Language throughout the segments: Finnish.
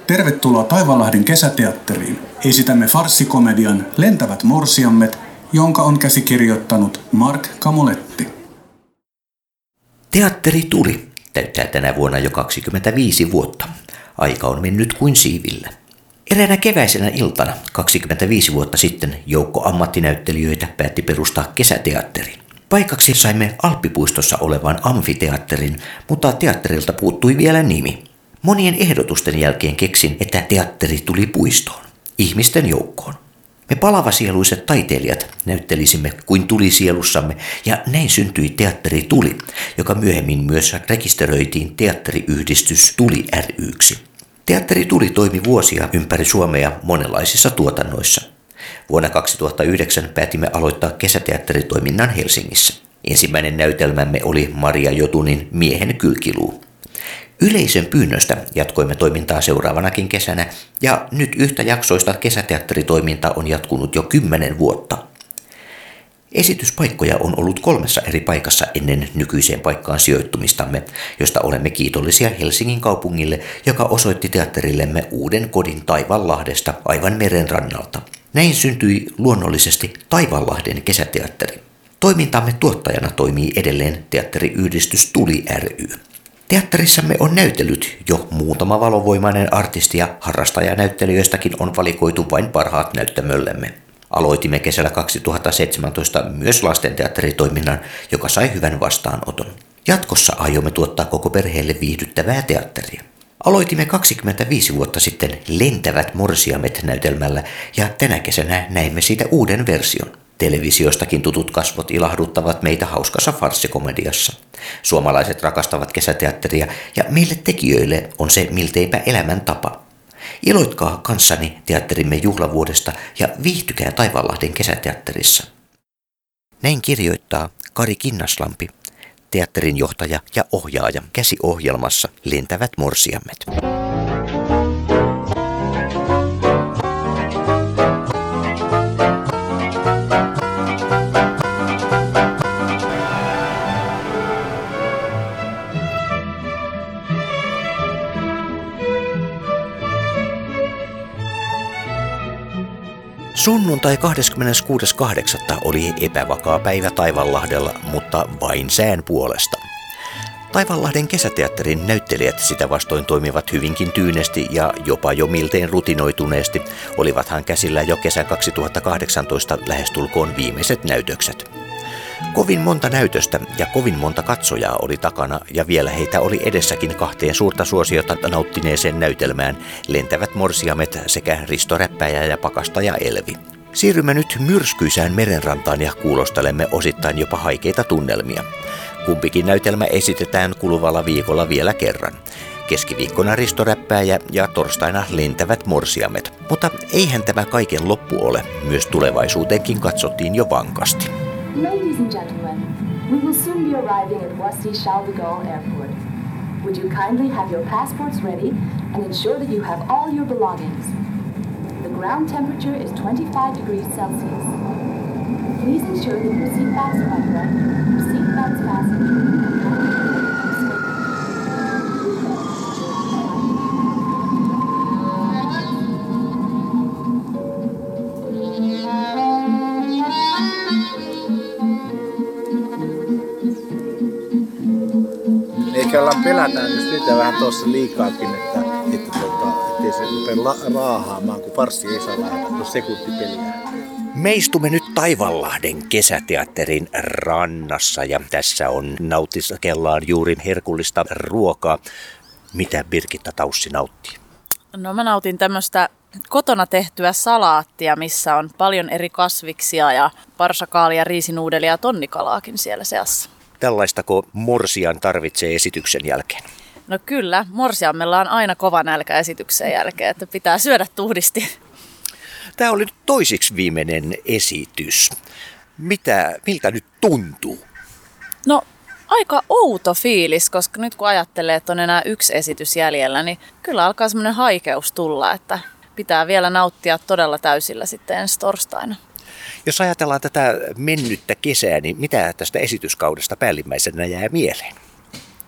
Tervetuloa Taivanlahden kesäteatteriin. Esitämme farssikomedian Lentävät morsiammet, jonka on käsikirjoittanut Mark Kamoletti. Teatteri Tuli täyttää tänä vuonna jo 25 vuotta. Aika on mennyt kuin siivillä. Eräänä keväisenä iltana 25 vuotta sitten joukko ammattinäyttelijöitä päätti perustaa kesäteatterin. Paikaksi saimme Alppipuistossa olevan amfiteatterin, mutta teatterilta puuttui vielä nimi. Monien ehdotusten jälkeen keksin, että teatteri tuli puistoon, ihmisten joukkoon. Me palavasieluiset taiteilijat näyttelisimme kuin tulisielussamme, ja näin syntyi Teatteri Tuli, joka myöhemmin myös rekisteröitiin teatteriyhdistys Tuli ry:ksi. Teatteri Tuli toimi vuosia ympäri Suomea monenlaisissa tuotannoissa. Vuonna 2009 päätimme aloittaa kesäteatteritoiminnan Helsingissä. Ensimmäinen näytelmämme oli Maria Jotunin Miehen kylkiluu. Yleisön pyynnöstä jatkoimme toimintaa seuraavanakin kesänä, ja nyt yhtäjaksoista kesäteatteritoiminta on jatkunut jo 10 vuotta. Esityspaikkoja on ollut 3 eri paikassa ennen nykyiseen paikkaan sijoittumistamme, josta olemme kiitollisia Helsingin kaupungille, joka osoitti teatterillemme uuden kodin Taivanlahdesta aivan meren rannalta. Näin syntyi luonnollisesti Taivanlahden kesäteatteri. Toimintamme tuottajana toimii edelleen teatteriyhdistys Tuli ry. Teatterissamme on näytellyt jo muutama valovoimainen artisti ja harrastajanäyttelijöistäkin on valikoitu vain parhaat näyttämöllemme. Aloitimme kesällä 2017 myös lastenteatteritoiminnan, joka sai hyvän vastaanoton. Jatkossa aiomme tuottaa koko perheelle viihdyttävää teatteria. Aloitimme 25 vuotta sitten Lentävät morsiamet -näytelmällä ja tänä kesänä näimme siitä uuden version. Televisiostakin tutut kasvot ilahduttavat meitä hauskassa farssikomediassa. Suomalaiset rakastavat kesäteatteria ja meille tekijöille on se milteipä elämäntapa. Iloitkaa kanssani teatterimme juhlavuodesta ja viihtykää Taivanlahden kesäteatterissa. Näin kirjoittaa Kari Kinnaslampi, teatterin johtaja ja ohjaaja käsiohjelmassa Lentävät morsiammet. Sunnuntai 26.8. oli epävakaa päivä Taivanlahdella, mutta vain sään puolesta. Taivanlahden kesäteatterin näyttelijät sitä vastoin toimivat hyvinkin tyynesti ja jopa jo miltein rutinoituneesti, olivathan käsillä jo kesän 2018 lähestulkoon viimeiset näytökset. Kovin monta näytöstä ja kovin monta katsojaa oli takana ja vielä heitä oli edessäkin 2 suurta suosiota nauttineeseen näytelmään Lentävät morsiamet sekä Risto Räppäjä ja Pakastaja Elvi. Siirrymme nyt myrskyisään merenrantaan ja kuulostelemme osittain jopa haikeita tunnelmia. Kumpikin näytelmä esitetään kuluvalla viikolla vielä kerran. Keskiviikkona Risto Räppääjä ja torstaina Lentävät morsiamet. Mutta eihän tämä kaiken loppu ole, myös tulevaisuuteenkin katsottiin jo vankasti. Ladies and gentlemen, we will soon be arriving at Voici Charles de Gaulle Airport. Would you kindly have your passports ready and ensure that you have all your belongings? The ground temperature is 25 degrees Celsius. Please ensure that your seatbelts are upright, your seatbelts fastened. Eikä ollaan pelätään just niitä vähän tuossa liikaakin, ettei se rupea raahaamaan, kun farssi ei saa lähetä sekuntipeliä. Me istumme nyt Taivanlahden kesäteatterin rannassa ja tässä nautiskellaan juuri herkullista ruokaa. Mitä Birgitta Taussi nauttii? No mä nautin tämmöistä kotona tehtyä salaattia, missä on paljon eri kasviksia ja parsakaalia, riisinuudelia ja tonnikalaakin siellä seassa. Tällaistako morsian tarvitsee esityksen jälkeen? No kyllä, morsiammella on aina kova nälkä esityksen jälkeen, että pitää syödä tuhdisti. Tämä oli toisiksi viimeinen esitys. Miltä nyt tuntuu? No aika outo fiilis, koska nyt kun ajattelee, että on enää 1 esitys jäljellä, niin kyllä alkaa semmoinen haikeus tulla, että pitää vielä nauttia todella täysillä sitten ensi torstaina. Jos ajatellaan tätä mennyttä kesää, niin mitä tästä esityskaudesta päällimmäisenä jää mieleen?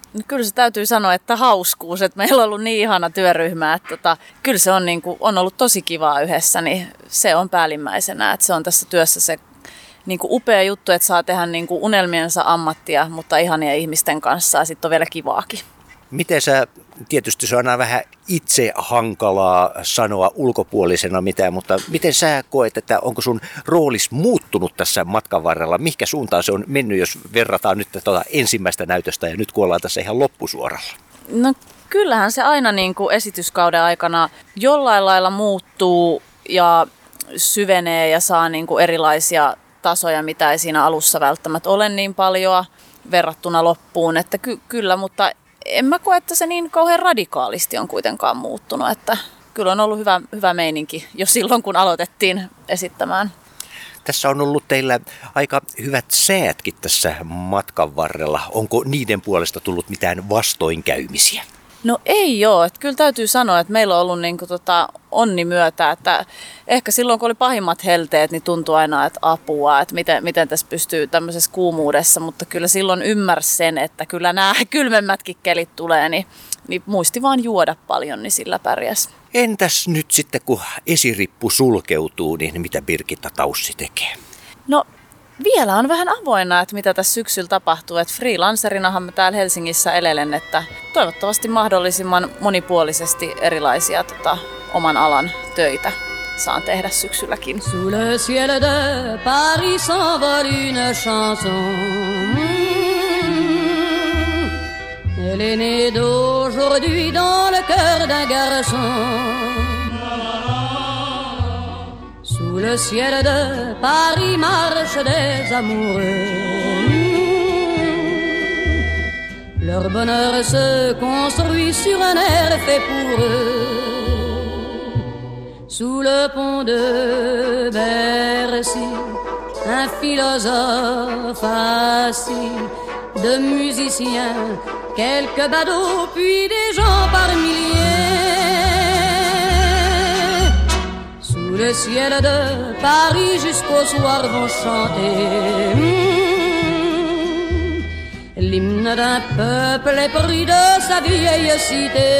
No kyllä se täytyy sanoa, että hauskuus, että meillä on ollut niin ihana työryhmä, että kyllä se on, niin kuin, on ollut tosi kivaa yhdessä, niin se on päällimmäisenä, että se on tässä työssä se niin kuin upea juttu, että saa tehdä niin kuin unelmiensa ammattia, mutta ihania ihmisten kanssa ja sitten on vielä kivaakin. Miten sä, tietysti se on aina vähän itse hankalaa sanoa ulkopuolisena mitään, mutta miten sä koet, että onko sun roolis muuttunut tässä matkan varrella? Mihinkä suuntaan se on mennyt, jos verrataan nyt ensimmäistä näytöstä ja nyt kun ollaan tässä ihan loppusuoralla? No kyllähän se aina niin kuin esityskauden aikana jollain lailla muuttuu ja syvenee ja saa niin kuin erilaisia tasoja, mitä ei siinä alussa välttämättä ole niin paljon verrattuna loppuun, että kyllä, mutta en mä koe, että se niin kauhean radikaalisti on kuitenkaan muuttunut, että kyllä on ollut hyvä meininki jo silloin, kun aloitettiin esittämään. Tässä on ollut teillä aika hyvät säätkin tässä matkan varrella. Onko niiden puolesta tullut mitään vastoinkäymisiä? No ei ole. Että kyllä täytyy sanoa, että meillä on ollut niin kuin onni myötä, että ehkä silloin kun oli pahimmat helteet, niin tuntui aina, että apua, että miten tässä pystyy tämmöisessä kuumuudessa, mutta kyllä silloin ymmärsi sen, että kyllä nämä kylmemmätkin kelit tulee, niin muisti vaan juoda paljon, niin sillä pärjäs. Entäs nyt sitten, kun esirippu sulkeutuu, niin mitä Birgitta Taussi tekee? No vielä on vähän avoinna, että mitä tässä syksyllä tapahtuu. Että freelancerinahan mä täällä Helsingissä elelen, että toivottavasti mahdollisimman monipuolisesti erilaisia oman alan töitä saan tehdä syksylläkin. Sous le ciel de Paris s'envole une chanson. Elle est née d'aujourd'hui dans le cœur d'un garçon. Sous le ciel de Paris marchent des amoureux. Leur bonheur se construit sur un air fait pour eux. Sous le pont de Bercy, un philosophe assis, de musiciens, quelques badauds, puis des gens par milliers. Sous le ciel de Paris jusqu'au soir vont chanter l'hymne d'un peuple épris de sa vieille cité.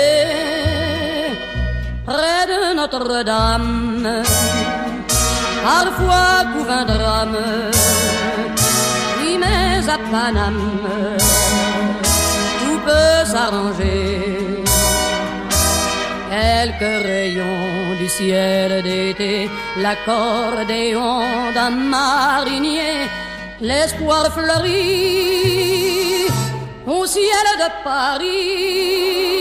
Près de Notre-Dame, parfois couvre un drame, oui mais à Paname, tout peut s'arranger. Quelques rayons du ciel d'été, l'accordéon d'un marinier, l'espoir fleurit au ciel de Paris.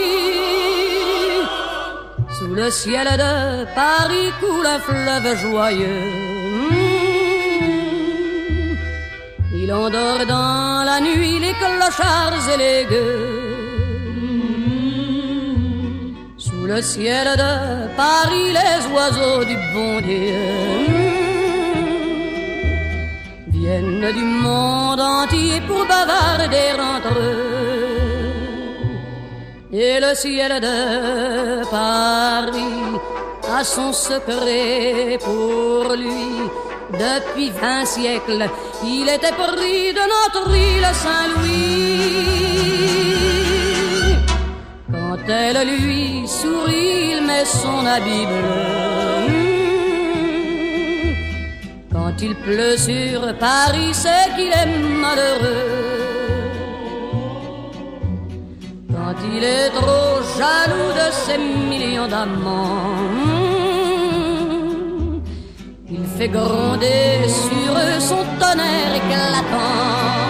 Sous le ciel de Paris coule un fleuve joyeux. Il endort dans la nuit les clochards et les gueux. Sous le ciel de Paris les oiseaux du bon Dieu viennent du monde entier pour bavarder entre eux. Et le ciel de Paris a son secret pour lui. Depuis 20 siècles, il était pris de notre île Saint-Louis. Quand elle lui sourit, il met son habit bleu. Quand il pleut sur Paris, c'est qu'il est malheureux. Quand il est trop jaloux de ses millions d'amants, il fait gronder sur eux son tonnerre éclatant.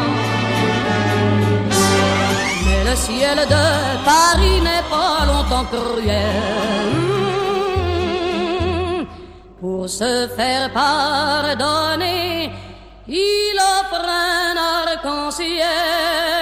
Mais le ciel de Paris n'est pas longtemps cruel. Pour se faire pardonner, il offre un arc-en-ciel.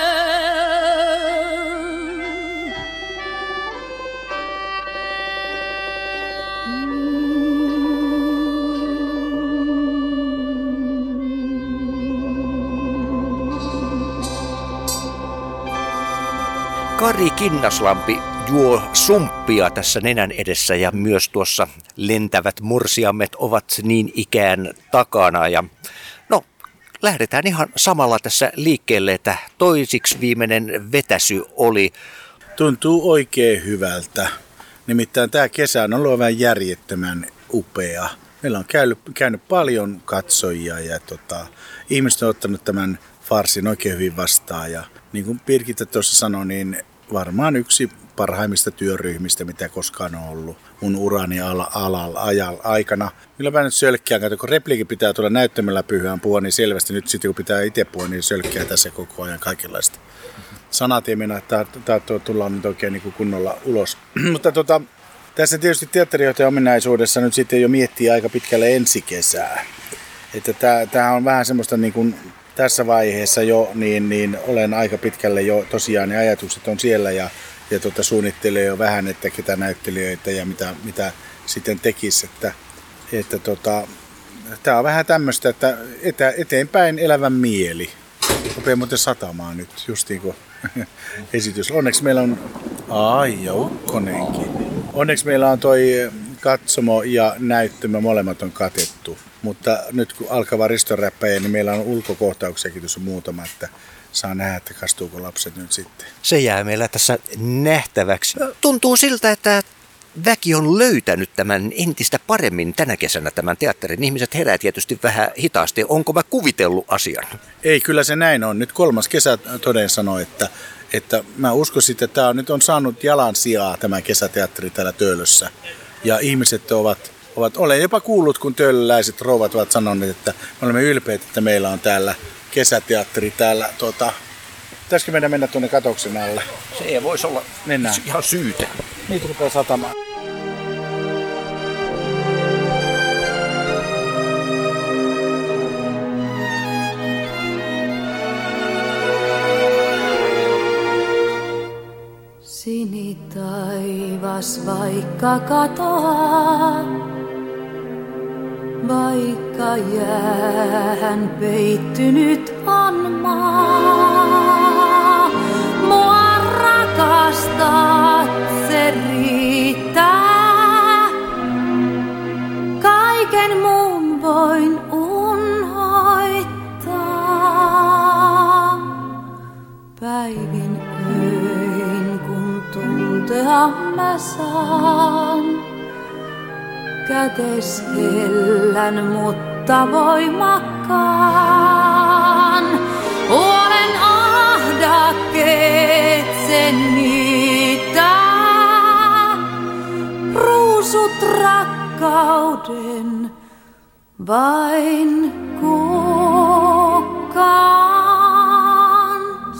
Kari Kinnaslampi juo sumppia tässä nenän edessä ja myös tuossa lentävät morsiammet ovat niin ikään takana. Ja no, lähdetään ihan samalla tässä liikkeelle, että toisiksi viimeinen vetäsy oli. Tuntuu oikein hyvältä. Nimittäin tämä kesä on ollut vähän järjettömän upea. Meillä on käynyt paljon katsojia ja ihmiset on ottanut tämän farssin oikein hyvin vastaan. Ja niin kuin Birgitta tuossa sanoi, niin varmaan yksi parhaimmista työryhmistä, mitä koskaan on ollut mun urani aikana. Milläpä nyt sölkkiä, kun repliikin pitää tulla näyttämällä pyhään puhua, niin selvästi nyt sitten kun pitää itse puhua, niin sölkkiä tässä koko ajan kaikenlaista. Sanat ei mennä, että tullaan nyt oikein niin kuin kunnolla ulos. Mutta tässä tietysti teatterijohtajan ominaisuudessa nyt sitten jo miettii aika pitkälle ensi kesää. Että tämä on vähän semmoista niin kuin tässä vaiheessa jo, niin olen aika pitkälle jo tosiaan ne ajatukset on siellä ja suunnittelee jo vähän, että ketä näyttelijöitä ja mitä sitten tekisi. Että tämä on vähän tämmöistä, että eteenpäin elävän mieli. Rupeaa muuten satamaan nyt, just niin kuin esitys. Onneksi meillä on, ja ukkonenkin. Onneksi meillä on toi katsomo ja näyttämö, molemmat on katettu. Mutta nyt kun alkava ristoräppäjä, niin meillä on ulkokohtauksiakin tuossa muutama, että saa nähdä, että kastuuko lapset nyt sitten. Se jää meillä tässä nähtäväksi. Tuntuu siltä, että väki on löytänyt tämän entistä paremmin tänä kesänä tämän teatterin. Ihmiset herää tietysti vähän hitaasti. Onko mä kuvitellut asian? Ei, kyllä se näin on. Nyt 3. kesä toden sanoi, että mä uskoisin, että tämä nyt on saanut jalan sijaa tämä kesäteatteri täällä Töölössä. Ja ihmiset olen jopa kuullut, kun töölöläiset rouvat ovat sanoneet, että me olemme ylpeitä, että meillä on täällä kesäteatteri täällä. Pitäisikö meidän mennä tuonne katoksen alle? Se ei voisi olla ihan syytä. Niitä rupeaa satamaan. Sinitaivas vaikka katoaa, vaikka jäähän peittynyt on maa. Mua rakastat, se riittää. Kaiken muun voin unhoittaa. Päivin öin kun tuntea mä saan. Kätes hellän, mutta voimakkaan. Olen ahdakkeet sen niittää. Ruusut rakkauden vain kukaan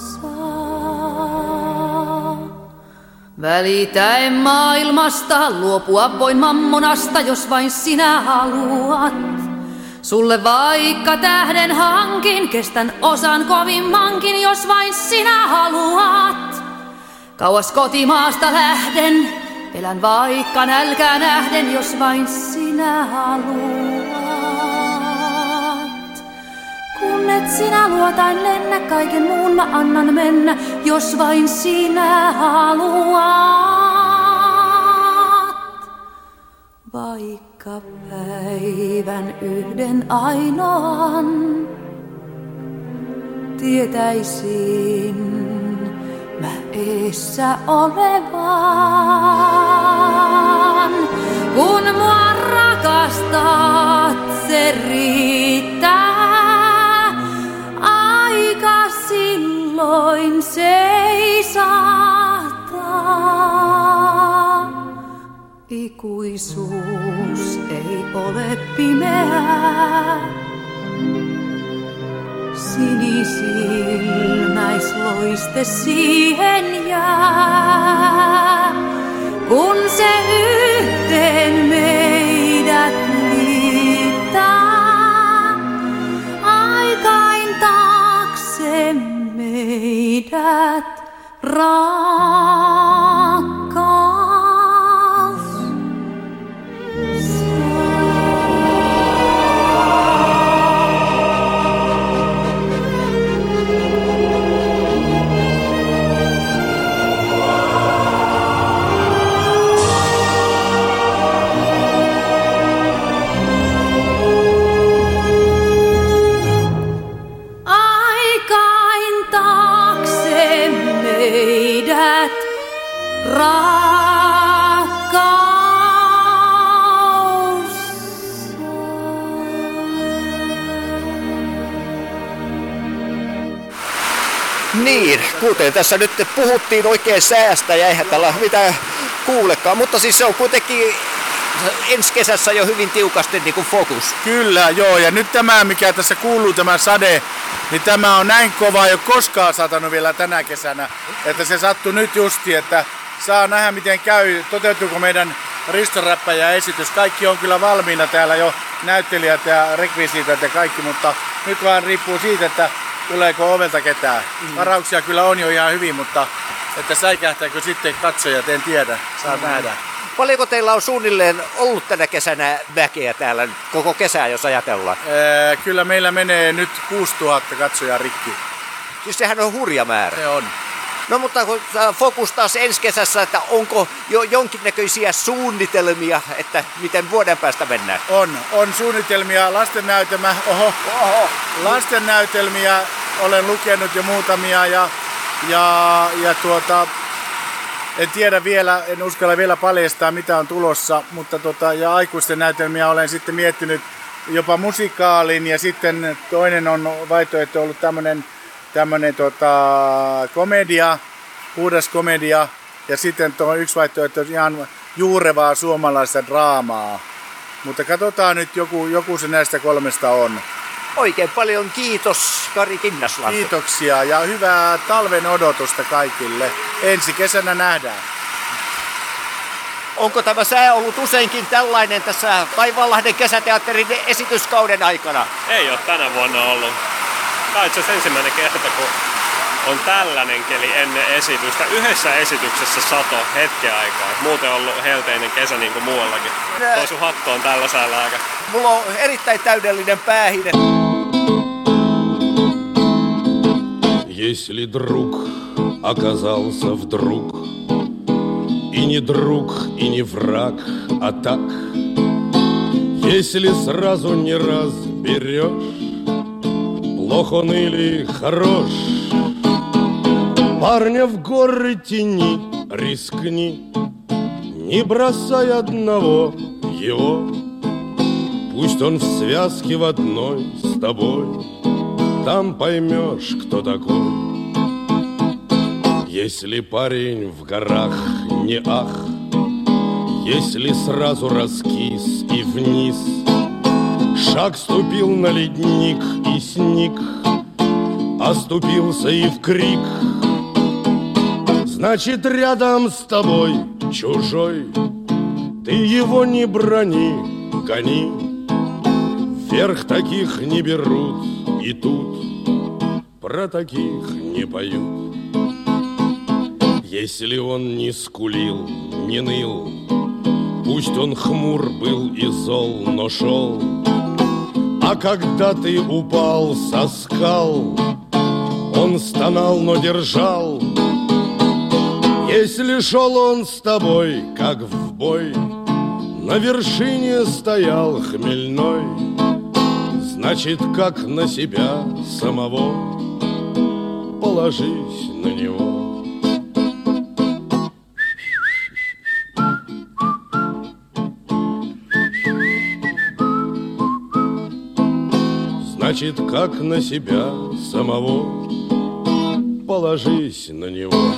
saa. Välitäen maailmasta, luopua voin mammonasta, jos vain sinä haluat. Sulle vaikka tähden hankin, kestän osan kovimmankin, jos vain sinä haluat. Kauas kotimaasta lähden, elän vaikka nälkää nähden, jos vain sinä haluat. Kun et sinä luotain lennä, kaiken muun mä annan mennä, jos vain sinä haluat. Vaikka päivän yhden ainoan tietäisin mä eessä olevan. Kun mua rakastat, se riittää. Aika silloin seisahtaa. Ikuisuus ei ole pimeää. Sinisilmäisloiste siihen jää. Kun se yhteen meidät liittää. Aikain taakse meidät rakkaus. Niin, kuten tässä nyt puhuttiin oikein säästä ja eihän tällä mitään kuulekaan, mutta siis se on kuitenkin ensi kesässä jo hyvin tiukasti niin kuin fokus. Kyllä, joo, ja nyt tämä, mikä tässä kuuluu, tämä sade, niin tämä on näin kova, ei ole koskaan satanut vielä tänä kesänä, että se sattui nyt justi, että saa nähdä miten käy, toteutuuko meidän Risto-räppäjä-esitys. Kaikki on kyllä valmiina täällä jo, näyttelijät ja rekvisiitat ja kaikki, mutta nyt vaan riippuu siitä, että tuleeko ovelta ketään. Varauksia kyllä on jo ihan hyvin, mutta että säikähtääkö sitten katsojat, en tiedä, saa nähdä. Paljonko teillä on suunnilleen ollut tänä kesänä väkeä täällä koko kesää, jos ajatellaan? Kyllä meillä menee nyt 6000 katsojaa rikki. Siis sehän on hurja määrä. Se on. No mutta kun fokus taas ensi kesässä, että onko jo jonkinnäköisiä suunnitelmia, että miten vuoden päästä mennään? On suunnitelmia, lastennäytelmiä olen lukenut jo muutamia ja en tiedä vielä, en uskalla vielä paljastaa mitä on tulossa, mutta ja aikuisten näytelmiä olen sitten miettinyt jopa musikaalin ja sitten toinen on vaihtoehto ollut tämmönen komedia, puhdas komedia ja sitten tuo yksi vaihtoehto on ihan juurevaa suomalaista draamaa. Mutta katsotaan nyt, joku se näistä kolmesta on. Oikein paljon kiitos Kari Kinnaslanto. Kiitoksia ja hyvää talven odotusta kaikille. Ensi kesänä nähdään. Onko tämä sää ollut useinkin tällainen tässä Taivaanlahden kesäteatterin esityskauden aikana? Ei ole tänä vuonna ollut. Tämä on itse asiassa ensimmäinen kerta, kun on tällainen keli ennen esitystä. Yhdessä esityksessä sato hetken aikaa. Muuten on ollut helteinen kesä niin kuin muuallakin. Tuo sun hattu on tällä säällä aika. Mulla on erittäin täydellinen päähine. Если друг оказался вдруг и не друг, и не враг, а так, если сразу не разберешь, плох он или хорош, парня в горы тяни, рискни, не бросай одного его, пусть он в связке в одной с тобой, там поймешь, кто такой. Если парень в горах не ах, если сразу раскис и вниз, шаг ступил на ледник и сник, оступился и в крик, значит рядом с тобой чужой, ты его не брони, гони, вверх таких не берут, и тут про таких не поют. Если он не скулил, не ныл, пусть он хмур был и зол, но шел, а когда ты упал со скал, он стонал, но держал. Если шел он с тобой, как в бой, на вершине стоял хмельной, значит, как на себя самого, положись на него. Значит, как на себя самого, положись на него.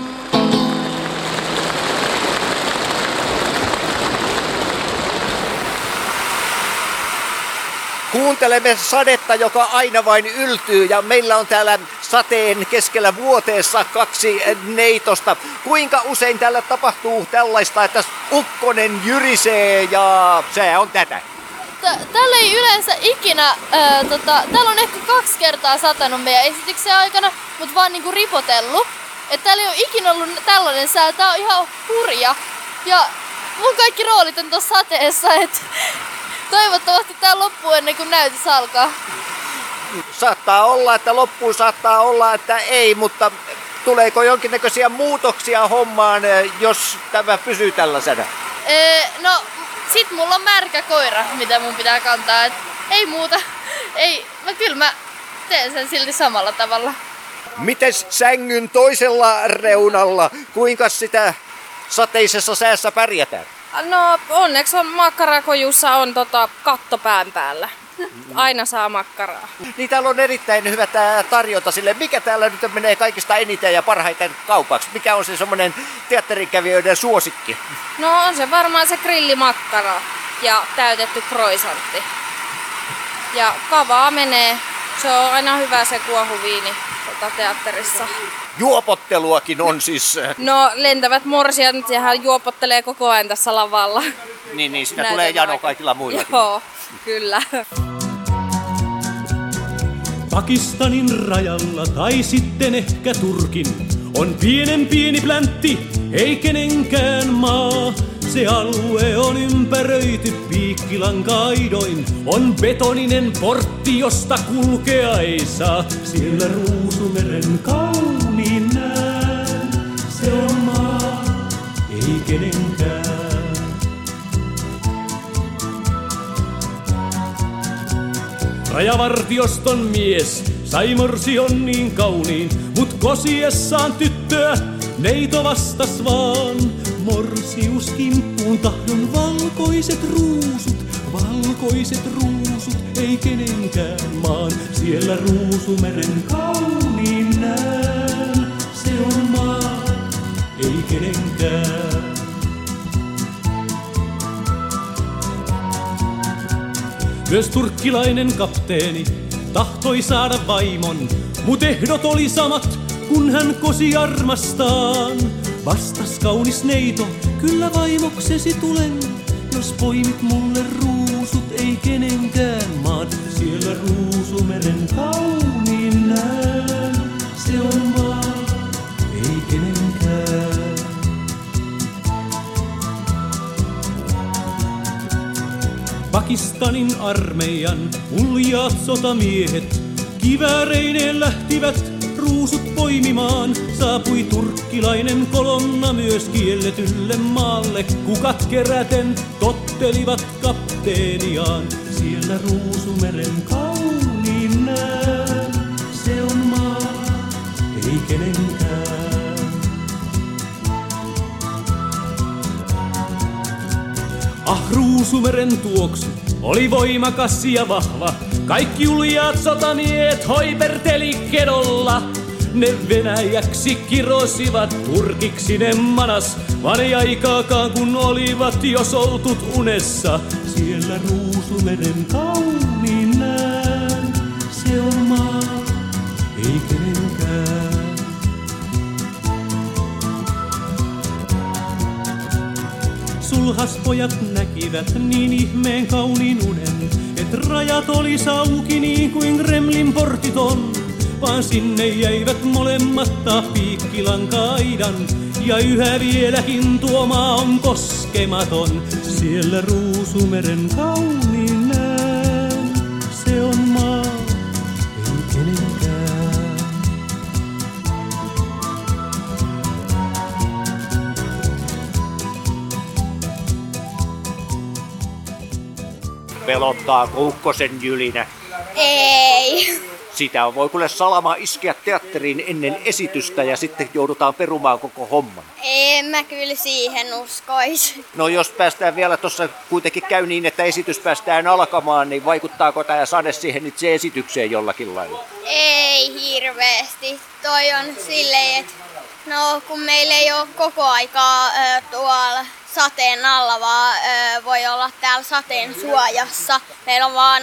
Kuuntelemme sadetta, joka aina vain yltyy, ja meillä on täällä sateen keskellä vuoteessa 2 neitosta. Kuinka usein täällä tapahtuu tällaista, että ukkonen jyrisee ja se on tätä? Täällä ei yleensä ikinä, täällä on ehkä 2 kertaa satanut meidän esityksen aikana, mutta vaan niinku ripotellut. Että täällä ei ole ikinä ollut tällainen sää, tää on ihan hurja. Ja mun kaikki roolit on tuossa sateessa, että toivottavasti tää loppuu ennen kuin näytös alkaa. Saattaa olla, että loppuu, saattaa olla, että ei, mutta tuleeko jonkinnäköisiä muutoksia hommaan, jos tämä pysyy tällaisena? No, sit mulla on märkä koira, mitä mun pitää kantaa. Et ei muuta. Ei, kyllä mä teen sen silti samalla tavalla. Mites sängyn toisella reunalla? Kuinka sitä sateisessa säässä pärjätään? No onneksi on makkarakojussa on katto pään päällä. Aina saa makkaraa. Niin täällä on erittäin hyvä tämä tarjonta sille. Mikä täällä nyt menee kaikista eniten ja parhaiten kaupaksi? Mikä on se semmoinen teatterikävijöiden suosikki? No on se varmaan se grillimakkara ja täytetty croissantti. Ja kavaa menee. Se on aina hyvä se kuohuviini teatterissa. Juopotteluakin on siis. No lentävät morsiat, sehän juopottelee koko ajan tässä lavalla. Niin, sitä tulee jano kaikilla muillakin. Joo, kyllä. Pakistanin rajalla tai sitten ehkä Turkin on pieni pläntti, ei kenenkään maa. Se alue on ympäröity piikkilankaidoin, on betoninen portti, josta kulkea ei saa. Siellä Ruusumeren kauniin näen, se on maa, ei kenenkään. Rajavartioston mies sai morsion niin kauniin, mut kosiessaan tyttöä neito vastas vaan. Morsius kimppuun tahdon valkoiset ruusut, ei kenenkään maan. Siellä Ruusumeren kauniin näen, se on maa, ei kenenkään. Myös turkkilainen kapteeni tahtoi saada vaimon, mut ehdot oli samat, kun hän kosi armastaan. Vastas kaunis neito, kyllä vaimoksesi tulen, jos poimit mulle ruusut, ei kenenkään maan. Siellä Ruusumeren kauniin näen, se on maa, ei kenenkään. Pakistanin armeijan uljaat sotamiehet kivääreineen lähtivät ruusut poimimaan. Saapui turkkilainen kolonna myös kielletylle maalle. Kukat keräten tottelivat kapteeniaan. Siellä Ruusumeren kauniin näen, se on maa, ei kenenkään. Ruusumeren tuoksu oli voimakas ja vahva. Kaikki uljaat sotamiehet hoiperteli kedolla. Ne Venäjäksi kirosivat, turkiksi ne manas, vaan ei aikaakaan kun olivat jo soltut unessa. Siellä Ruusumeren kauniin näen, se on maa, ei kenenkään. Sulhaspojat näkivät niin ihmeen kauniin unen, et rajat oli auki niin kuin Kremlin portit on. Vaan sinne jäivät molemmat piikkilankaidan, ja yhä vieläkin tuo maa on koskematon. Siellä Ruusumeren kauniin näen, se on maa, ei kenenkään. Pelottaako ukkosen jylinä? Ei. Sitä voi kuule salama iskeä teatteriin ennen esitystä ja sitten joudutaan perumaan koko homman. En mä kyllä siihen uskoisi. No jos päästään vielä tuossa kuitenkin käy niin, että esitys päästään alkamaan, niin vaikuttaako tämä sade siihen itse esitykseen jollakin lailla? Ei hirveästi. Toi on silleen, että no kun meillä ei ole koko aikaa tuolla sateen alla, vaan voi olla täällä sateen suojassa. Meillä on vaan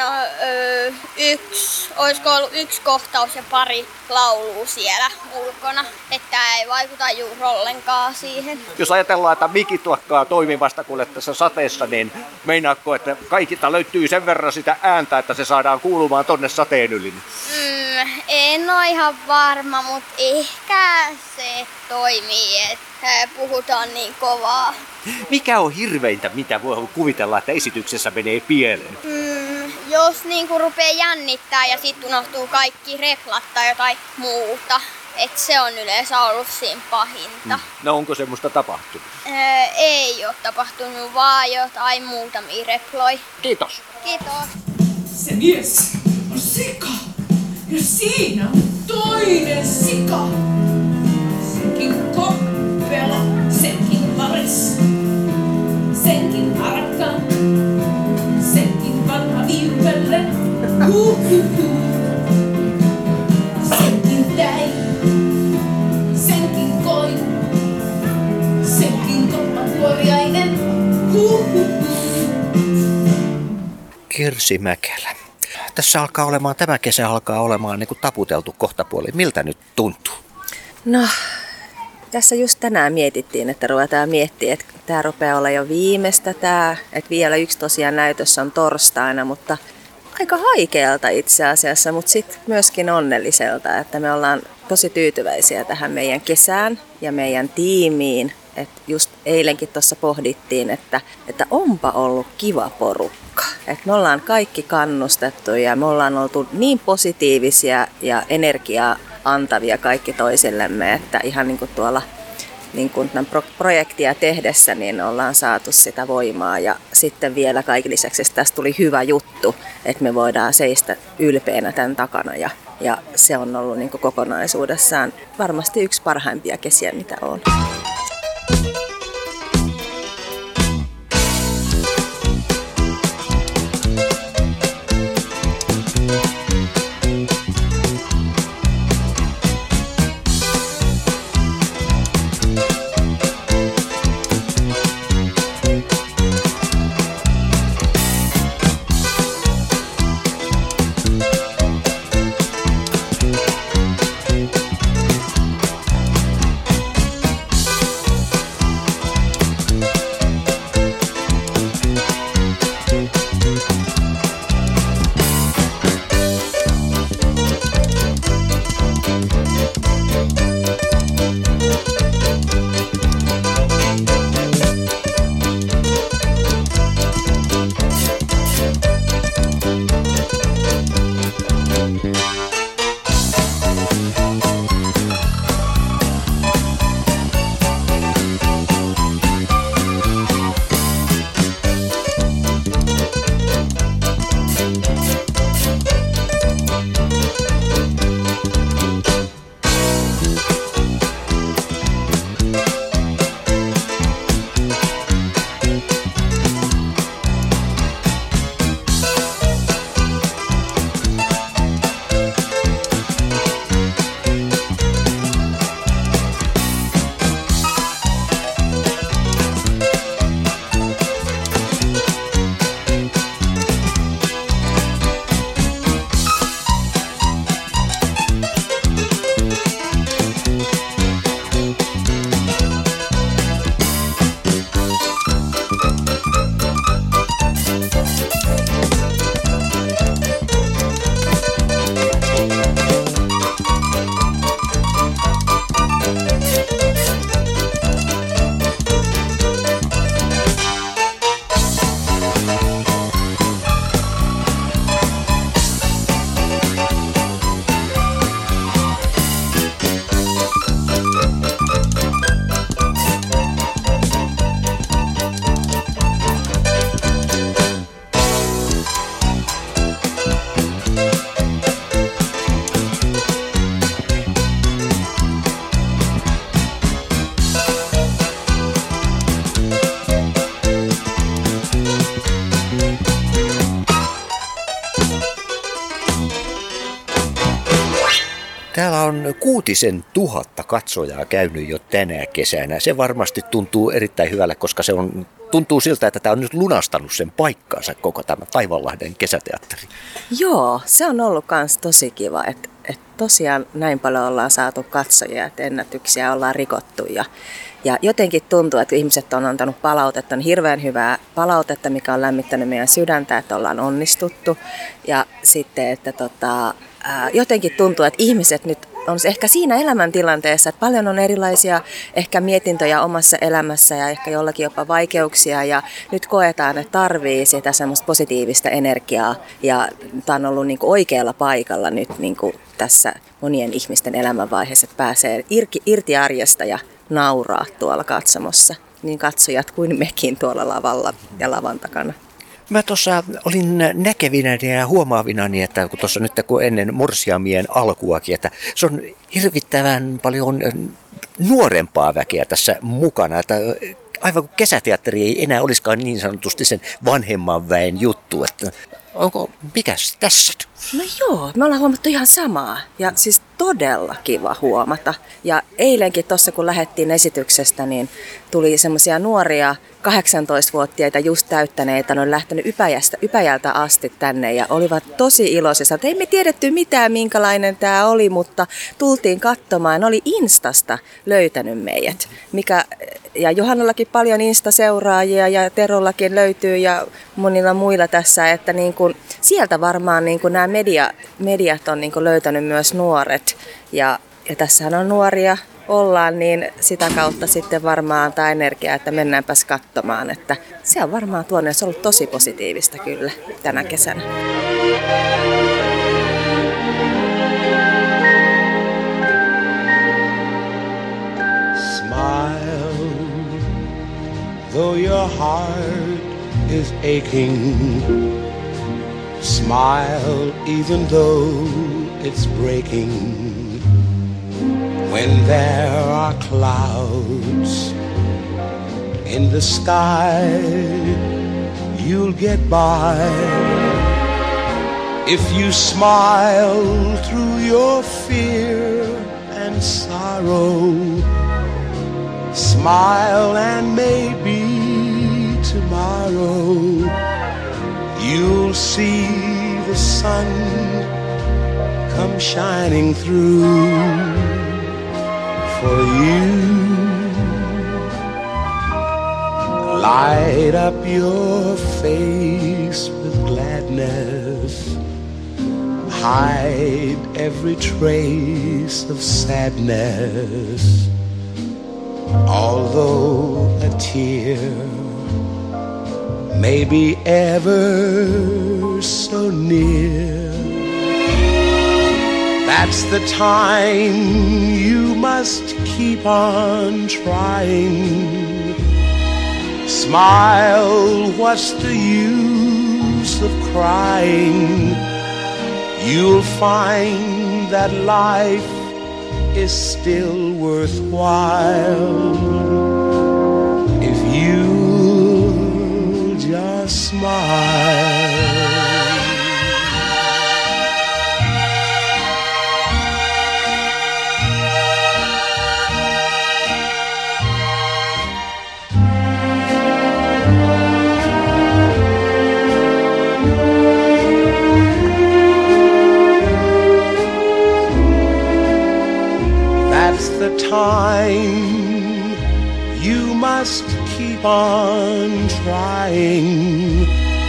olisiko ollut yksi kohtaus ja pari laulua siellä ulkona, että ei vaikuta juuri ollenkaan siihen. Jos ajatellaan, että mikit lakkaa toimivasta kuule tässä sateessa, niin meinaatko, että kaikilta löytyy sen verran sitä ääntä, että se saadaan kuulumaan tonne sateen yli? En ole ihan varma, mutta ehkä se toimii, että puhutaan niin kovaa. Mikä on hirveintä, mitä voi kuvitella, että esityksessä menee pieleen? Jos niinku rupeaa jännittää ja sitten unohtuu kaikki replat tai jotain muuta. Et se on yleensä ollut siinä pahinta. No onko semmoista tapahtunut? Ei ole tapahtunut, vaan jotain muutamia reploi. Kiitos. Kiitos. Se mies on sika. Ja siinä on toinen sika. Senkin koppelo, senkin vares. Senkin harkka, senkin vanha viipelle. Senkin tein, senkin koin, senkin koppakuoriainen. Kirsi Mäkelä. Tämä kesä alkaa olemaan niin kuin taputeltu kohtapuoli. Miltä nyt tuntuu? No, tässä just tänään mietittiin, että ruvetaan miettimään, että tämä rupeaa olla jo viimeistä että vielä yksi tosiaan näytös on torstaina, mutta aika haikealta itse asiassa, mutta sitten myöskin onnelliselta, että me ollaan tosi tyytyväisiä tähän meidän kesään ja meidän tiimiin. Että just eilenkin tuossa pohdittiin, että onpa ollut kiva porukka. Että me ollaan kaikki kannustettu ja me ollaan oltu niin positiivisia ja energiaa antavia kaikki toisillemme, että ihan niin kuin tuolla niin kuin tämän projektia tehdessä niin ollaan saatu sitä voimaa. Ja sitten vielä kaiken lisäksi tästä tuli hyvä juttu, että me voidaan seistä ylpeänä tämän takana ja se on ollut niin kuin kokonaisuudessaan varmasti yksi parhaimpia kesiä, mitä on. Täällä on 6 000 katsojaa käynyt jo tänä kesänä. Se varmasti tuntuu erittäin hyvälle, koska tuntuu siltä, että tämä on nyt lunastanut sen paikkaansa koko tämä Taivanlahden kesäteatteri. Joo, se on ollut myös tosi kiva, että tosiaan näin paljon ollaan saatu katsojia, että ennätyksiä ollaan rikottu. Ja jotenkin tuntuu, että ihmiset on antanut palautetta, on hirveän hyvää palautetta, mikä on lämmittänyt meidän sydäntä, että ollaan onnistuttu. Ja sitten, että jotenkin tuntuu, että ihmiset nyt on ehkä siinä elämäntilanteessa, että paljon on erilaisia ehkä mietintöjä omassa elämässä ja ehkä jollakin jopa vaikeuksia. Ja nyt koetaan, että tarvii sitä semmoista positiivista energiaa. Ja tämä on ollut niin kuin oikealla paikalla nyt niin kuin tässä monien ihmisten elämänvaiheessa, että pääsee irti arjesta ja nauraa tuolla katsomossa. Niin katsojat kuin mekin tuolla lavalla ja lavan takana. Mä tuossa olin näkevinäni ja huomaavinani, että kun tuossa nyt kun ennen morsiamien alkuakin, että se on hirvittävän paljon nuorempaa väkeä tässä mukana. Että aivan kuin kesäteatteri ei enää olisikaan niin sanotusti sen vanhemman väen juttu. Että Mikäs tässä? No joo, me ollaan huomattu ihan samaa ja siis todella kiva huomata. Ja eilenkin tuossa kun lähdettiin esityksestä, niin tuli semmoisia nuoria 18-vuotiaita just täyttäneitä, ne on lähtenyt Ypäjältä asti tänne ja olivat tosi iloisia. Ei me tiedetty mitään minkälainen tämä oli, mutta tultiin katsomaan. Ne oli Instasta löytänyt meidät. Ja Johannallakin paljon Insta-seuraajia ja Terollakin löytyy ja monilla muilla tässä, että niin kun, sieltä varmaan niin kun nämä mediat on niin kun löytänyt myös nuoret ja tässähän on nuoria ollaan, niin sitä kautta sitten varmaan antaa energiaa, että mennäänpäs katsomaan, että se on varmaan tuonne, se on ollut tosi positiivista kyllä tänä kesänä. Smile, though your heart is aching. Smile, even though it's breaking. When there are clouds in the sky, you'll get by. If you smile through your fear and sorrow, smile and maybe tomorrow you'll see the sun come shining through for you. Light up your face with gladness. Hide every trace of sadness. Although a tear may be ever so near, that's the time you must keep on trying. Smile, what's the use of crying? You'll find that life is still worthwhile if you just smile. The time you must keep on trying.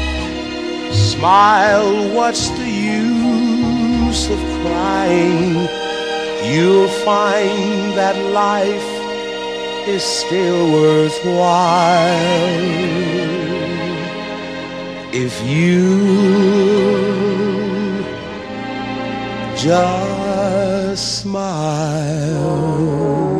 Smile, what's the use of crying? You'll find that life is still worthwhile if you just smile.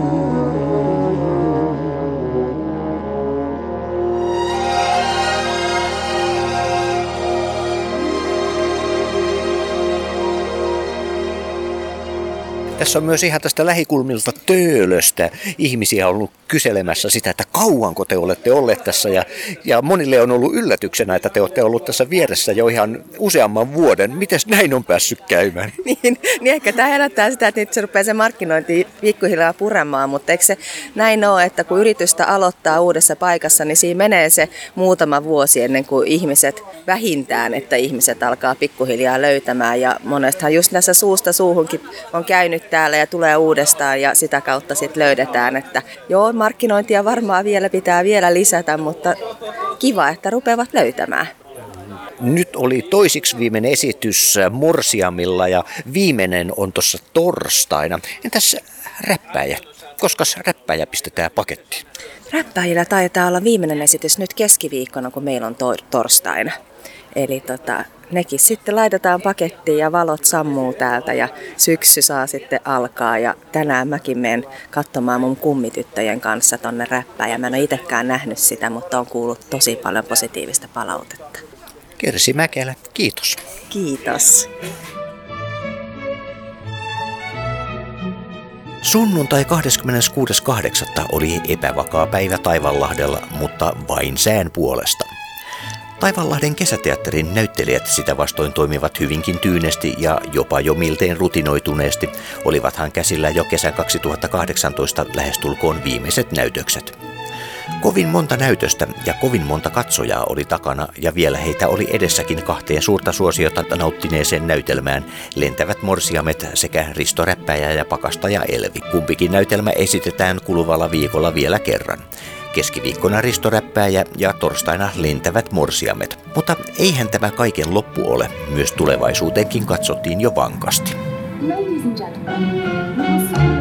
Tässä on myös ihan tästä lähikulmilta Töölöstä ihmisiä ollut kyselemässä sitä, että kauanko te olette olleet tässä. Ja monille on ollut yllätyksenä, että te olette ollut tässä vieressä jo ihan useamman vuoden. Mites näin on päässyt käymään? Niin ehkä tämä herättää sitä, että nyt se rupeaa se markkinointi pikkuhiljaa puremaan, mutta eikö se näin ole, että kun yritystä aloittaa uudessa paikassa, niin siinä menee se muutama vuosi ennen kuin vähintään, että ihmiset alkaa pikkuhiljaa löytämään. Ja monestahan just näissä suusta suuhunkin on käynyt täällä ja tulee uudestaan ja sitä kautta sitten löydetään, että joo, markkinointia varmaan pitää vielä lisätä, mutta kiva, että rupeavat löytämään. Nyt oli toisiksi viimeinen esitys Morsiamilla ja viimeinen on tuossa torstaina. Entäs räppäjä? Koskas räppäjä pistetään pakettiin? Räppäjillä taitaa olla viimeinen esitys nyt keskiviikkona, kun meillä on torstaina. Eli nekin sitten laitetaan pakettiin ja valot sammuu täältä ja syksy saa sitten alkaa. Ja tänään mäkin menen katsomaan mun kummityttöjen kanssa tonne räppään. Mä en ole itsekään nähnyt sitä, mutta on kuullut tosi paljon positiivista palautetta. Kirsi Mäkelä, kiitos. Kiitos. Sunnuntai 26.8. oli epävakaa päivä Taivanlahdella, mutta vain sään puolesta. Taivaanlahden kesäteatterin näyttelijät sitä vastoin toimivat hyvinkin tyynesti ja jopa jo miltein rutinoituneesti, olivathan käsillä jo kesän 2018 lähestulkoon viimeiset näytökset. Kovin monta näytöstä ja kovin monta katsojaa oli takana ja vielä heitä oli edessäkin 2 suurta suosiota nauttineeseen näytelmään Lentävät morsiamet sekä Risto Räppäjä ja Pakastaja Elvi. Kumpikin näytelmä esitetään kuluvalla viikolla vielä kerran. Keskiviikkona Risto Räppääjä ja torstaina Lentävät morsiamet. Mutta eihän tämä kaiken loppu ole. Myös tulevaisuuteenkin katsottiin jo vankasti. Ladies and gentlemen, we will soon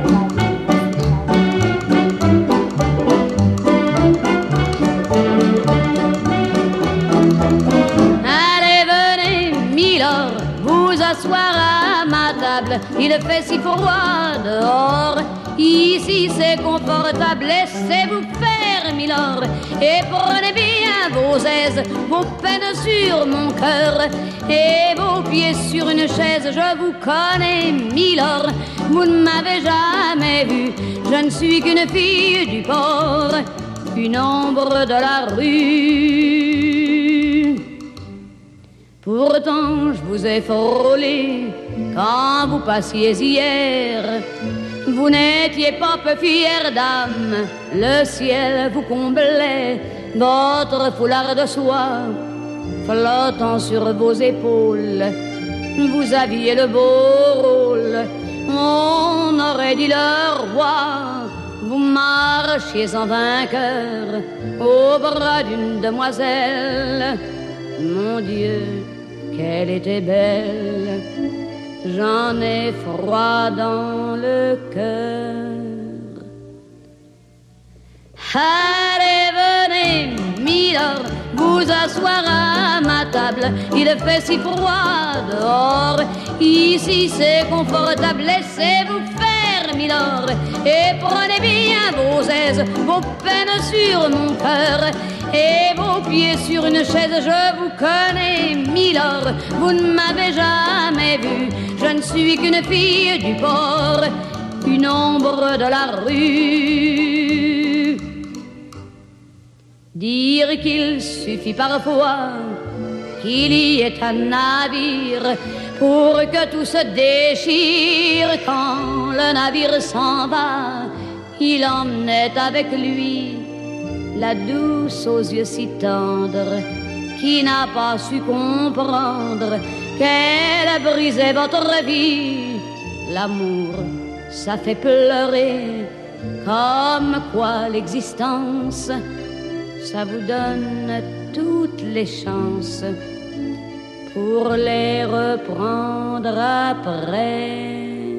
Allez, venez, Milord, vous asseoir à ma table. Il fait si froid dehors. Ici c'est confortable, laissez-vous faire, Milord. Et prenez bien vos aises, vos peines sur mon cœur. Et vos pieds sur une chaise, je vous connais, Milord. Vous ne m'avez jamais vu, je ne suis qu'une fille du port, une ombre de la rue. Pourtant je vous ai frôlé quand vous passiez hier. Vous n'étiez pas peu fière dame, le ciel vous comblait, votre foulard de soie flottant sur vos épaules. Vous aviez le beau rôle, on aurait dit le roi. Vous marchiez en vainqueur au bras d'une demoiselle. Mon Dieu, qu'elle était belle, j'en ai froid dans le cœur. Allez, venez, Milord, vous asseoir à ma table. Il fait si froid dehors, ici c'est confortable, laissez-vous faire, Milord. Et prenez bien vos aises, vos peines sur mon cœur. Et vos pieds sur une chaise, je vous connais, Milord. Vous ne m'avez jamais vu, je ne suis qu'une fille du port, une ombre de la rue. Dire qu'il suffit parfois qu'il y ait un navire pour que tout se déchire. Quand le navire s'en va, il emmenait avec lui la douce aux yeux si tendres, qui n'a pas su comprendre qu'elle brisait votre vie. L'amour, ça fait pleurer, comme quoi l'existence, ça vous donne toutes les chances pour les reprendre après.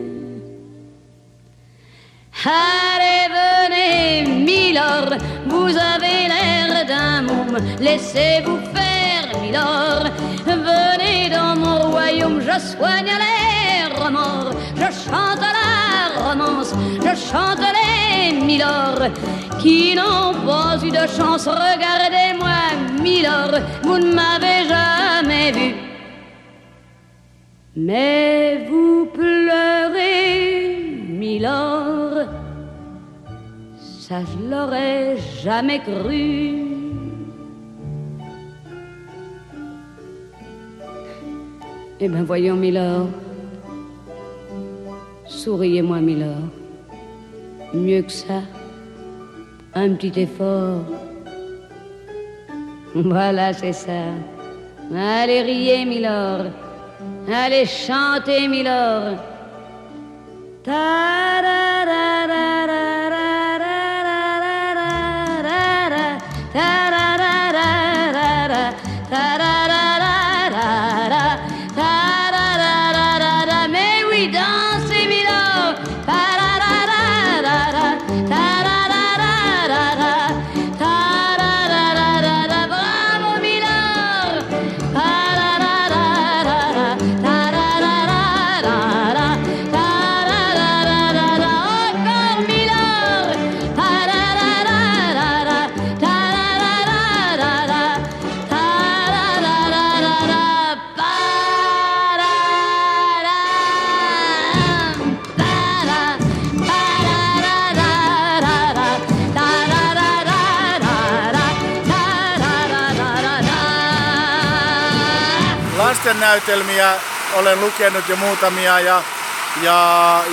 Allez, venez, Milord, vous avez l'air d'un môme, laissez-vous faire, Milord. Venez dans mon royaume, je soigne les remords, je chante la romance, je chante les Milord qui n'ont pas eu de chance. Regardez-moi, Milord, vous ne m'avez jamais vu, mais vous pleurez, Milord, ça je l'aurais jamais cru. Eh bien voyons, Milord, souriez-moi, Milord, mieux que ça, un petit effort. Voilà, c'est ça. Allez, riez, Milord, allez, chantez, Milord. Mais oui, dansez, Milord. Bravo, Milord. Encore, Milord. lastennäytelmiä olen lukenut jo muutamia ja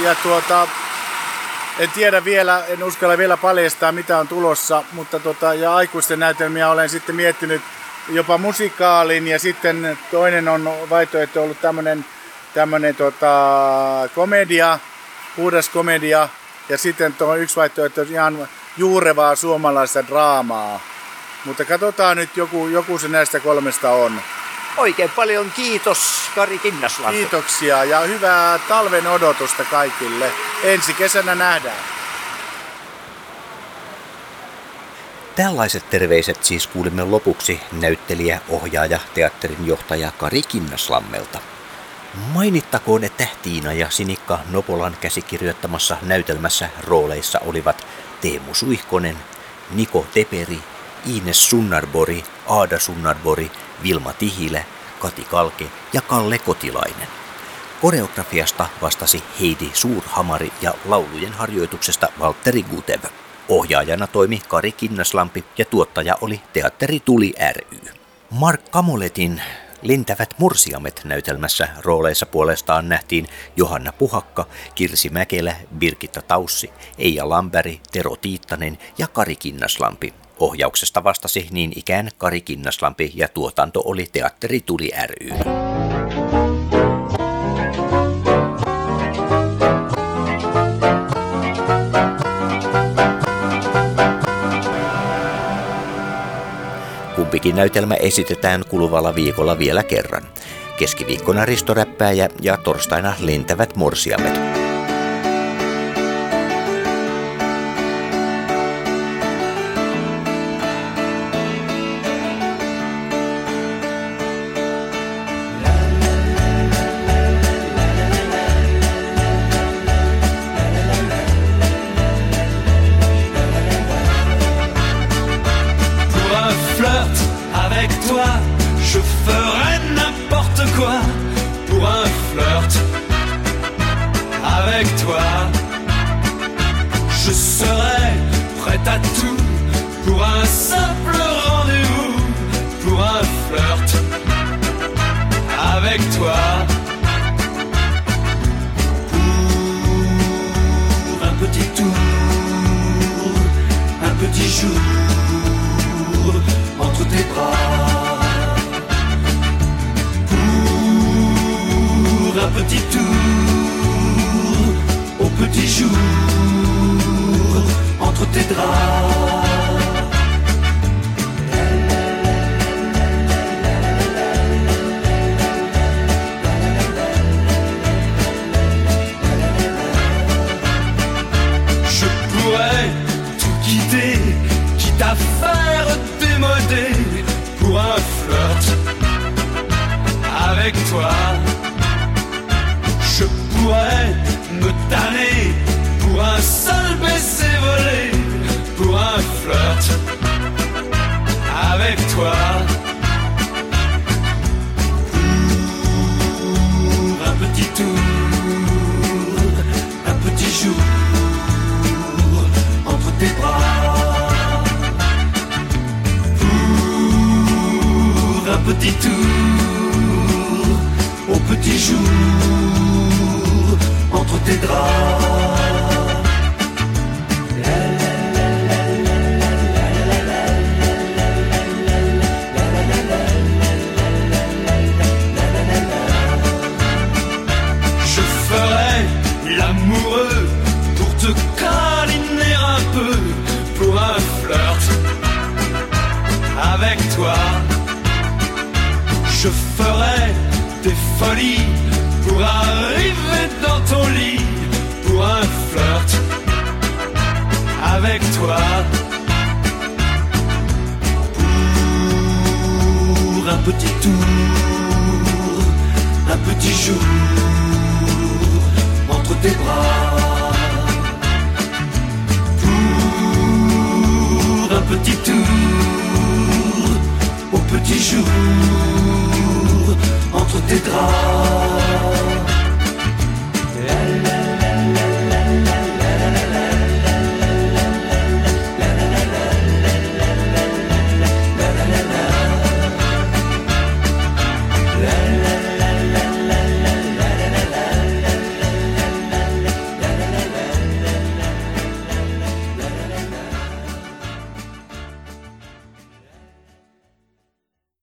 en tiedä vielä, en uskalla vielä paljastaa mitä on tulossa, mutta ja aikuisten näytelmiä olen sitten miettinyt jopa musikaalin ja sitten toinen on vaihtoehto ollut tämmönen komedia, puhdas komedia ja sitten yksi vaihtoehto ihan juurevaa suomalaista draamaa. Mutta katsotaan nyt, joku se näistä kolmesta on. Oikein paljon kiitos, Kari Kinnaslampi. Kiitoksia ja hyvää talven odotusta kaikille. Ensi kesänä nähdään. Tällaiset terveiset siis kuulimme lopuksi näyttelijä, ohjaaja, teatterin johtaja Kari Kinnaslammelta. Mainittakoon, että Tiina ja Sinikka Nopolan käsikirjoittamassa näytelmässä rooleissa olivat Teemu Suihkonen, Niko Teperi, Ines Sunnarbori, Aada Sunnarbori, Vilma Tihilä, Kati Kalke ja Kalle Kotilainen. Koreografiasta vastasi Heidi Suurhamari ja laulujen harjoituksesta Valtteri Gutev. Ohjaajana toimi Kari Kinnaslampi ja tuottaja oli Teatteri Tuli ry. Mark Kamoletin Lentävät morsiamet -näytelmässä rooleissa puolestaan nähtiin Johanna Puhakka, Kirsi Mäkelä, Birgitta Taussi, Eija Lamberg, Tero Tiittanen ja Kari Kinnaslampi. Ohjauksesta vastasi niin ikään Kari Kinnaslampi ja tuotanto oli Teatteri Tuli ry. Kumpikin näytelmä esitetään kuluvalla viikolla vielä kerran. Keskiviikkona Risto Räppääjä ja torstaina Lentävät morsiamet. Petit jour, entre tes draps.